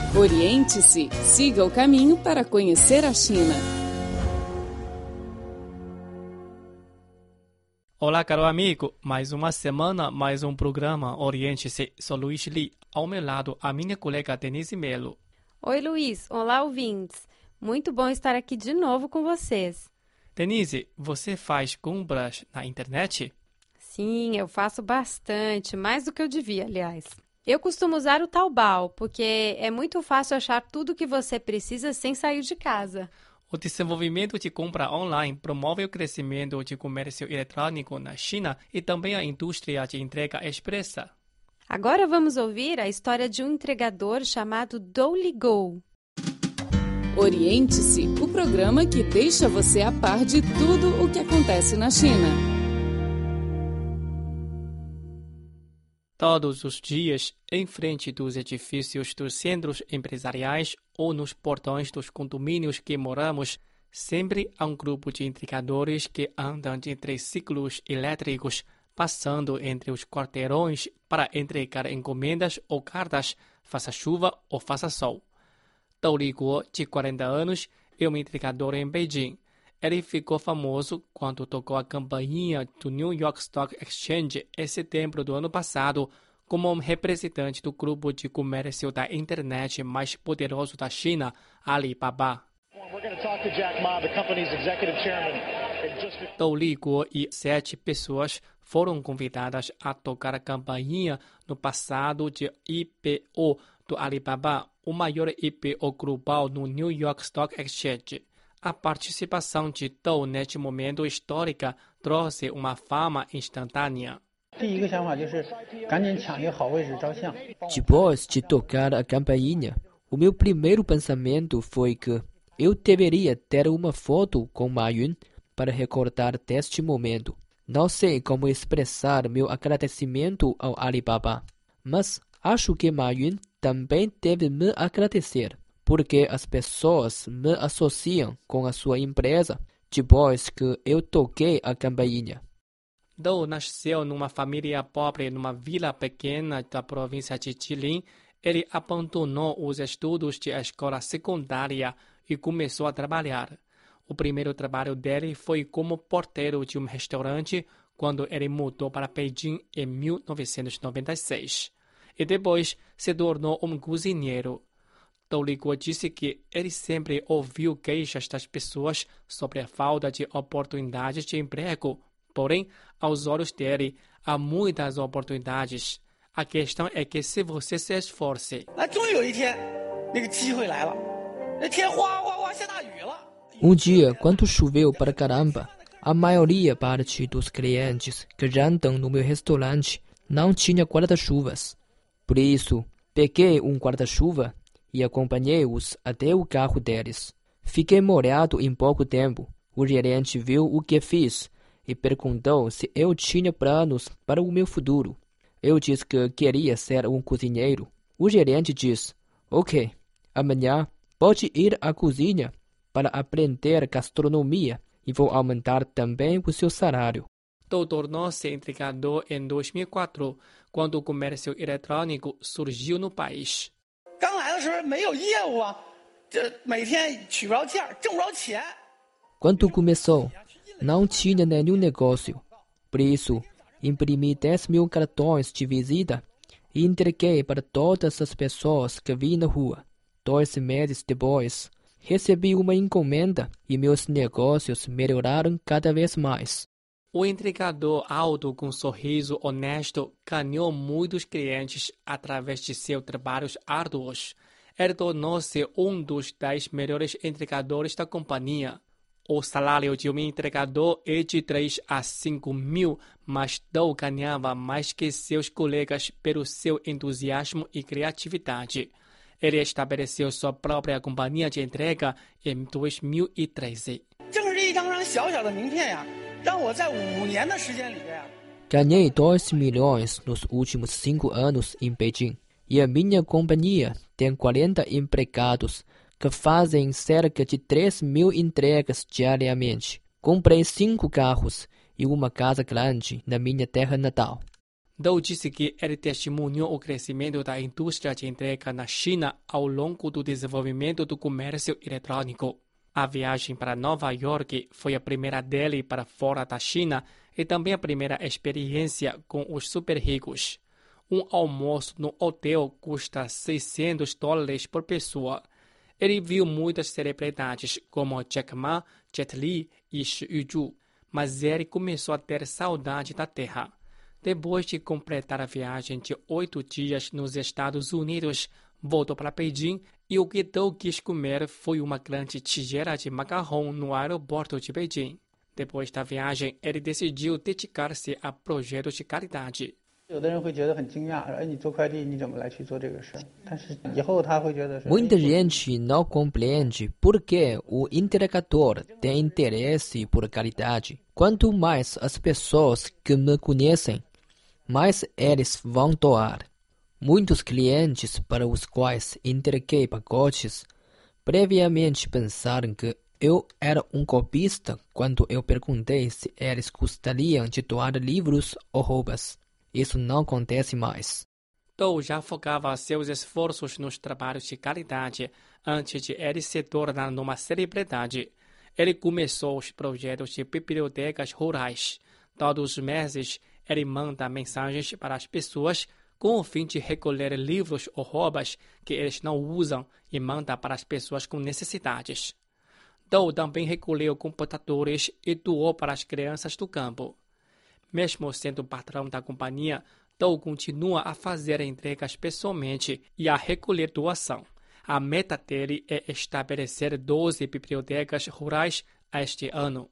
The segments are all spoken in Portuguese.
Oriente-se, siga o caminho para conhecer a China. Olá, caro amigo. Mais uma semana, mais um programa Oriente-se. Sou Luiz Li. Ao meu lado, a minha colega Denise Melo. Oi, Luiz. Olá, ouvintes. Muito bom estar aqui de novo com vocês. Denise, você faz compras na internet? Sim, eu faço bastante, mais do que eu devia, aliás. Eu costumo usar o Taobao, porque é muito fácil achar tudo o que você precisa sem sair de casa. O desenvolvimento de compra online promove o crescimento de comércio eletrônico na China e também a indústria de entrega expressa. Agora vamos ouvir a história de um entregador chamado Douligou. Oriente-se, o programa que deixa você a par de tudo o que acontece na China. Todos os dias, em frente dos edifícios dos centros empresariais ou nos portões dos condomínios que moramos, sempre há um grupo de entregadores que andam de triciclos elétricos, passando entre os quarteirões para entregar encomendas ou cartas, faça chuva ou faça sol. Douligou, de 40 anos, é um entregador em Beijing. Ele ficou famoso quando tocou a campainha do New York Stock Exchange em setembro do ano passado, como um representante do grupo de comércio da internet mais poderoso da China, Alibaba. Douligou e 7 pessoas foram convidadas a tocar a campainha no passado de IPO do Alibaba, o maior IPO global no New York Stock Exchange. A participação de Dou neste momento histórico trouxe uma fama instantânea. Depois de tocar a campainha, o meu primeiro pensamento foi que eu deveria ter uma foto com Ma Yun para recordar deste momento. Não sei como expressar meu agradecimento ao Alibaba, mas acho que Ma Yun também deve me agradecer, porque as pessoas me associam com a sua empresa depois que eu toquei a campainha. Dou nasceu numa família pobre numa vila pequena da província de Jilin. Ele abandonou os estudos de escola secundária e começou a trabalhar. O primeiro trabalho dele foi como porteiro de um restaurante quando ele mudou para Beijing em 1996. E depois se tornou um cozinheiro. Douligou disse que ele sempre ouviu queixas das pessoas sobre a falta de oportunidades de emprego. Porém, aos olhos dele, há muitas oportunidades. A questão é que se você se esforce. Um dia, quando choveu para caramba, a maioria parte dos clientes que jantam no meu restaurante não tinha guarda-chuvas. Por isso, peguei um guarda-chuva e acompanhei-os até o carro deles. Fiquei molhado em pouco tempo. O gerente viu o que fiz e perguntou se eu tinha planos para o meu futuro. Eu disse que queria ser um cozinheiro. O gerente disse: ok, amanhã pode ir à cozinha para aprender gastronomia e vou aumentar também o seu salário. Dou tornou-se entregador em 2004, quando o comércio eletrônico surgiu no país. Quando começou, não tinha nenhum negócio. Por isso, imprimi 10.000 cartões de visita e entreguei para todas as pessoas que vi na rua. 2 meses depois, recebi uma encomenda e meus negócios melhoraram cada vez mais. O entregador alto com sorriso honesto ganhou muitos clientes através de seus trabalhos árduos. Ele tornou-se um dos 10 melhores entregadores da companhia. O salário de um entregador é de 3 a 5 mil, mas Dou ganhava mais que seus colegas pelo seu entusiasmo e criatividade. Ele estabeleceu sua própria companhia de entrega em 2013. Ganhei 2 milhões nos últimos 5 anos em Beijing. E a minha companhia tem 40 empregados que fazem cerca de 3.000 entregas diariamente. Comprei 5 carros e uma casa grande na minha terra natal. Dou disse que ele testemunhou o crescimento da indústria de entrega na China ao longo do desenvolvimento do comércio eletrônico. A viagem para Nova York foi a primeira dele para fora da China e também a primeira experiência com os super ricos. Um almoço no hotel custa $600 por pessoa. Ele viu muitas celebridades como Jack Ma, Jet Li e Shi Yuzhu, mas ele começou a ter saudade da terra. Depois de completar a viagem de 8 dias nos Estados Unidos, voltou para Beijing e o que Dou quis comer foi uma grande tigela de macarrão no aeroporto de Beijing. Depois da viagem, ele decidiu dedicar-se a projetos de caridade. Muita gente não compreende por que o entregador tem interesse por caridade. Quanto mais as pessoas que me conhecem, mais eles vão doar. Muitos clientes para os quais entreguei pacotes previamente pensaram que eu era um golpista quando eu perguntei se eles gostariam de doar livros ou roupas. Isso não acontece mais. Dou já focava seus esforços nos trabalhos de caridade antes de ele se tornar numa celebridade. Ele começou os projetos de bibliotecas rurais. Todos os meses, ele manda mensagens para as pessoas com o fim de recolher livros ou roupas que eles não usam e manda para as pessoas com necessidades. Dou também recolheu computadores e doou para as crianças do campo. Mesmo sendo patrão da companhia, Dou continua a fazer entregas pessoalmente e a recolher doação. A meta dele é estabelecer 12 bibliotecas rurais este ano.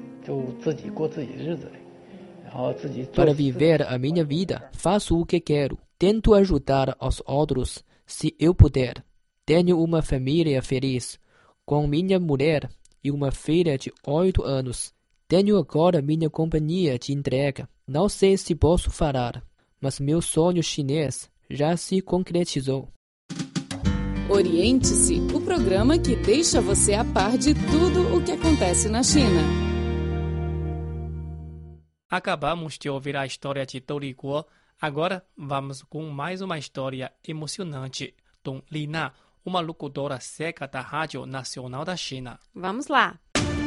Para viver a minha vida, faço o que quero. Tento ajudar os outros se eu puder. Tenho uma família feliz, com minha mulher e uma filha de 8 anos. Tenho agora minha companhia de entrega. Não sei se posso falar, mas meu sonho chinês já se concretizou. Oriente-se, o programa que deixa você a par de tudo o que acontece na China. Acabamos de ouvir a história de Dou Liguo. Agora vamos com mais uma história emocionante. Dong Lina, uma locutora cega da Rádio Nacional da China. Vamos lá!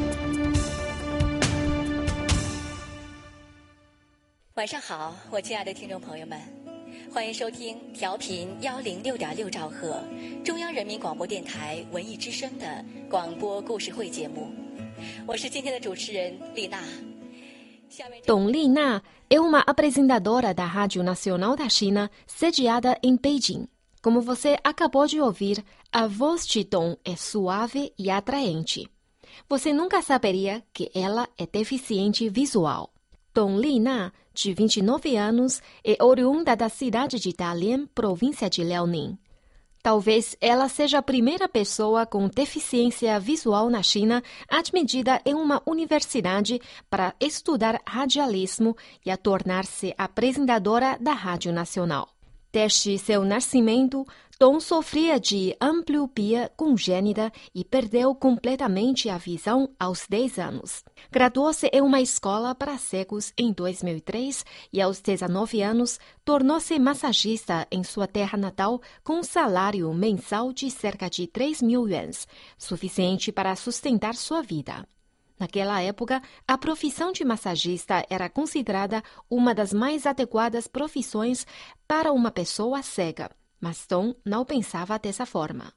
晚上好，我亲爱的听众朋友们，欢迎收听调频106.6兆赫中央人民广播电台文艺之声的广播故事会节目，我是今天的主持人丽娜。 Dong Lina é uma apresentadora da Rádio Nacional da China, sediada em Beijing. Como você acabou de ouvir, a voz de Dong é suave e atraente. Você nunca saberia que ela é deficiente visual. Dong Lina, de 29 anos, é oriunda da cidade de Dalian, província de Liaoning. Talvez ela seja a primeira pessoa com deficiência visual na China admitida em uma universidade para estudar radialismo e a tornar-se apresentadora da Rádio Nacional. Desde seu nascimento, Dong sofria de ambliopia congênita e perdeu completamente a visão aos 10 anos. Graduou-se em uma escola para cegos em 2003 e, aos 19 anos, tornou-se massagista em sua terra natal com um salário mensal de cerca de 3.000 yuans, suficiente para sustentar sua vida. Naquela época, a profissão de massagista era considerada uma das mais adequadas profissões para uma pessoa cega, mas Dong não pensava dessa forma.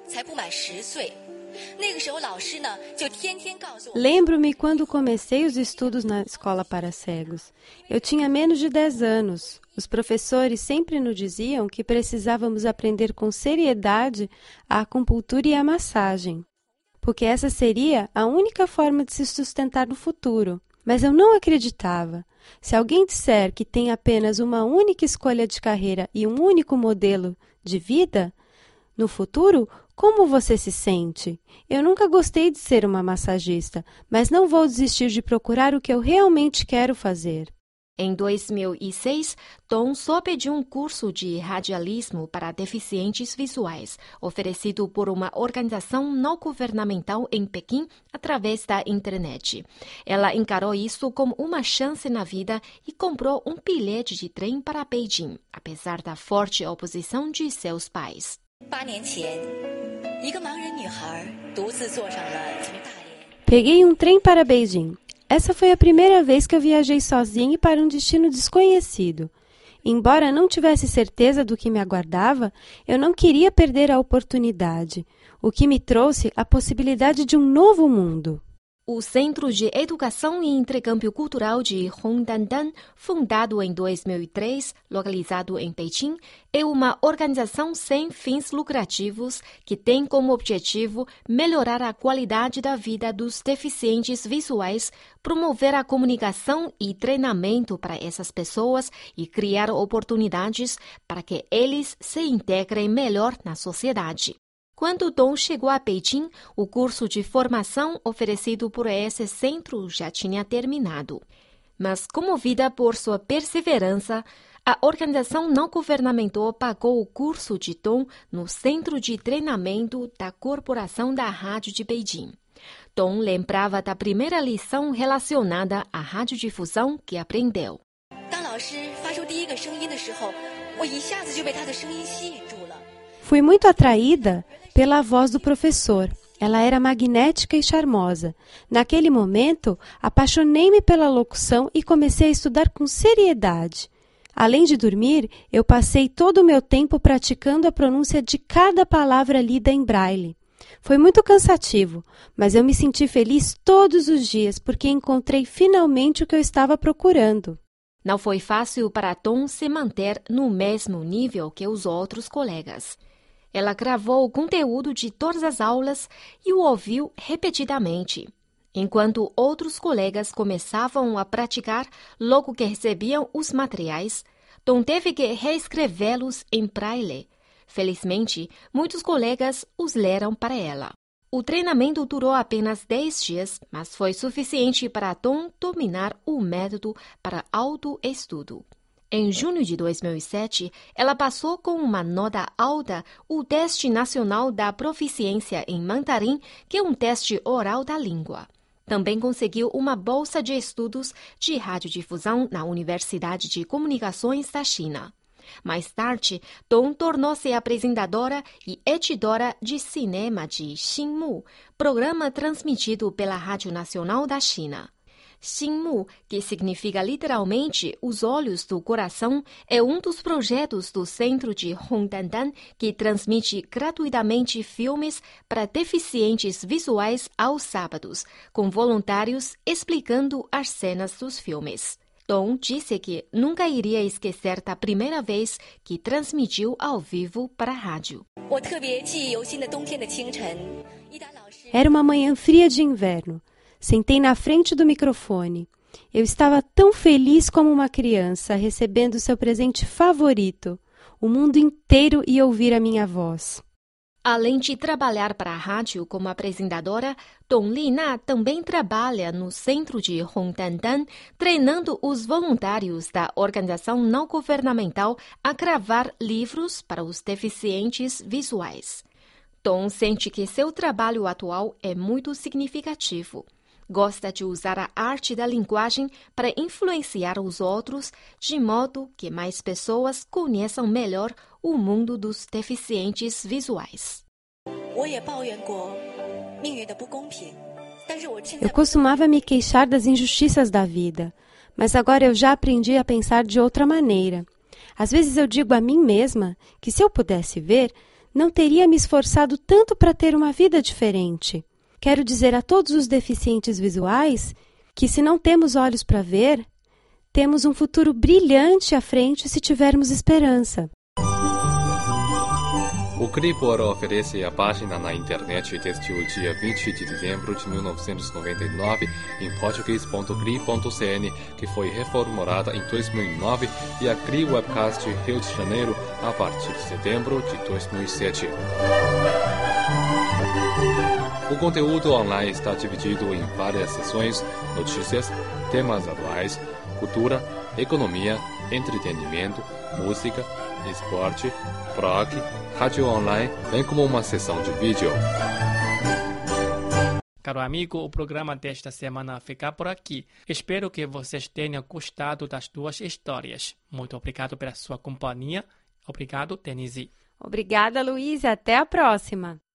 Lembro-me quando comecei os estudos na escola para cegos. Eu tinha menos de 10 anos. Os professores sempre nos diziam que precisávamos aprender com seriedade a acupuntura e a massagem, porque essa seria a única forma de se sustentar no futuro. Mas eu não acreditava. Se alguém disser que tem apenas uma única escolha de carreira e um único modelo de vida no futuro, como você se sente? Eu nunca gostei de ser uma massagista, mas não vou desistir de procurar o que eu realmente quero fazer. Em 2006, Dong soube de um curso de radialismo para deficientes visuais, oferecido por uma organização não governamental em Pequim através da internet. Ela encarou isso como uma chance na vida e comprou um bilhete de trem para Beijing, apesar da forte oposição de seus pais. 8年前，一个盲人女孩独自坐上了从大连。 Peguei um trem para Beijing. Essa foi a primeira vez que eu viajei sozinha para um destino desconhecido. Embora não tivesse certeza do que me aguardava, eu não queria perder a oportunidade, o que me trouxe a possibilidade de um novo mundo. O Centro de Educação e Intercâmbio Cultural de Hongdandan, fundado em 2003, localizado em Pequim, é uma organização sem fins lucrativos que tem como objetivo melhorar a qualidade da vida dos deficientes visuais, promover a comunicação e treinamento para essas pessoas e criar oportunidades para que eles se integrem melhor na sociedade. Quando Dong chegou a Beijing, o curso de formação oferecido por esse centro já tinha terminado. Mas, comovida por sua perseverança, a organização não governamental pagou o curso de Dong no Centro de Treinamento da Corporação da Rádio de Beijing. Dong lembrava da primeira lição relacionada à radiodifusão que aprendeu. 当老师发出第一个声音的时候，我一下子就被他的声音吸引住了。 Fui muito atraída pela voz do professor. Ela era magnética e charmosa. Naquele momento, apaixonei-me pela locução e comecei a estudar com seriedade. Além de dormir, eu passei todo o meu tempo praticando a pronúncia de cada palavra lida em braille. Foi muito cansativo, mas eu me senti feliz todos os dias porque encontrei finalmente o que eu estava procurando. Não foi fácil para Dong se manter no mesmo nível que os outros colegas. Ela gravou o conteúdo de todas as aulas e o ouviu repetidamente. Enquanto outros colegas começavam a praticar logo que recebiam os materiais, Dong teve que reescrevê-los em braille. Felizmente, muitos colegas os leram para ela. O treinamento durou apenas 10 dias, mas foi suficiente para Dong dominar o método para autoestudo. Em junho de 2007, ela passou com uma nota alta o Teste Nacional da Proficiência em Mandarim, que é um teste oral da língua. Também conseguiu uma bolsa de estudos de radiodifusão na Universidade de Comunicações da China. Mais tarde, Dong tornou-se apresentadora e editora de cinema de Xinmu, programa transmitido pela Rádio Nacional da China. Xinmu, que significa literalmente os olhos do coração, é um dos projetos do Centro de Hongdandan que transmite gratuitamente filmes para deficientes visuais aos sábados, com voluntários explicando as cenas dos filmes. Dong disse que nunca iria esquecer da primeira vez que transmitiu ao vivo para a rádio. Era uma manhã fria de inverno. Sentei na frente do microfone. Eu estava tão feliz como uma criança, recebendo seu presente favorito. O mundo inteiro ia ouvir a minha voz. Além de trabalhar para a rádio como apresentadora, Dong Lina também trabalha no centro de Hongdandan, treinando os voluntários da organização não governamental a gravar livros para os deficientes visuais. Dong sente que seu trabalho atual é muito significativo. Gosta de usar a arte da linguagem para influenciar os outros, de modo que mais pessoas conheçam melhor o mundo dos deficientes visuais. Eu costumava me queixar das injustiças da vida, mas agora eu já aprendi a pensar de outra maneira. Às vezes eu digo a mim mesma que se eu pudesse ver, não teria me esforçado tanto para ter uma vida diferente. Quero dizer a todos os deficientes visuais que, se não temos olhos para ver, temos um futuro brilhante à frente se tivermos esperança. O Cribor oferece a página na internet desde o dia 20 de dezembro de 1999 em português.cri.cn, que foi reformulada em 2009, e a Cri Webcast Rio de Janeiro a partir de setembro de 2007. O conteúdo online está dividido em várias seções: notícias, temas atuais, cultura, economia, entretenimento, música, esporte, blog, rádio online, bem como uma sessão de vídeo. Caro amigo, o programa desta semana fica por aqui. Espero que vocês tenham gostado das duas histórias. Muito obrigado pela sua companhia. Obrigado, Denise. Obrigada, Luiz. Até a próxima.